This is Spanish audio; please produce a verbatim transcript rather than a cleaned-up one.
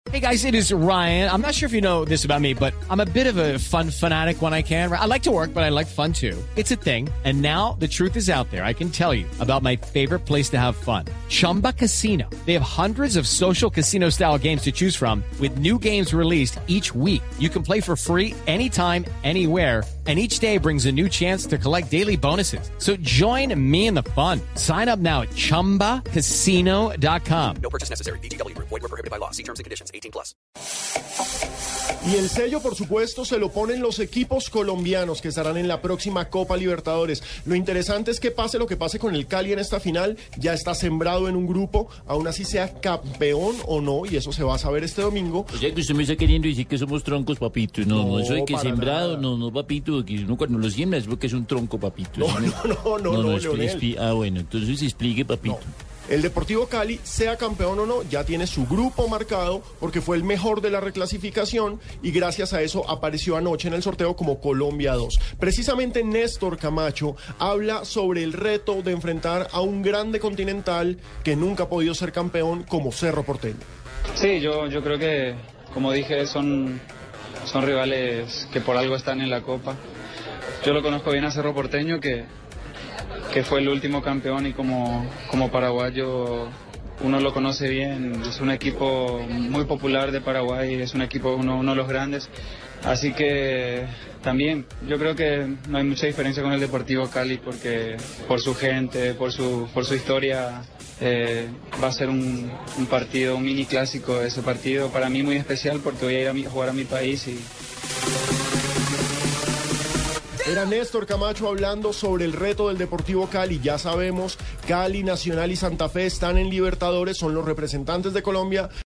Hey guys, it is Ryan. I'm not sure if you know this about me, but I'm a bit of a fun fanatic when I can. I like to work, but I like fun too. It's a thing. And now the truth is out there. I can tell you about my favorite place to have fun. Chumba Casino. They have hundreds of social casino style games to choose from with new games released each week. You can play for free anytime, anywhere. And each day brings a new chance to collect daily bonuses. So join me in the fun. Sign up now at chumba casino dot com. No purchase necessary. V G W. Void where prohibited by law. See terms and conditions. eighteen plus. Y el sello, por supuesto, se lo ponen los equipos colombianos que estarán en la próxima Copa Libertadores. Lo interesante es que pase lo que pase con el Cali en esta final, ya está sembrado en un grupo, aún así sea campeón o no, y eso se va a saber este domingo. O sea que usted me está queriendo decir que somos troncos, papito. No, no, No, eso de que para sembrado, nada. no, no, papito, que uno cuando lo siembra es porque es un tronco, papito. No, Eso me- no, no, no, no, expli- Leonel. expli- Ah, bueno, entonces explique, papito. El Deportivo Cali, sea campeón o no, ya tiene su grupo marcado porque fue el mejor de la reclasificación y gracias a eso apareció anoche en el sorteo como Colombia dos. Precisamente Néstor Camacho habla sobre el reto de enfrentar a un grande continental que nunca ha podido ser campeón como Cerro Porteño. Sí, yo, yo creo que, como dije, son, son rivales que por algo están en la Copa. Yo lo conozco bien a Cerro Porteño, que, que fue el último campeón y como, como paraguayo uno lo conoce bien. Es un equipo muy popular de Paraguay, es un equipo, uno, uno de los grandes. Así que también yo creo que no hay mucha diferencia con el Deportivo Cali porque por su gente, por su, por su historia, eh, va a ser un, un partido, un mini clásico ese partido, para mí muy especial porque voy a ir a, mi, a jugar a mi país y... Era Néstor Camacho hablando sobre el reto del Deportivo Cali. Ya sabemos, Cali, Nacional y Santa Fe están en Libertadores, son los representantes de Colombia.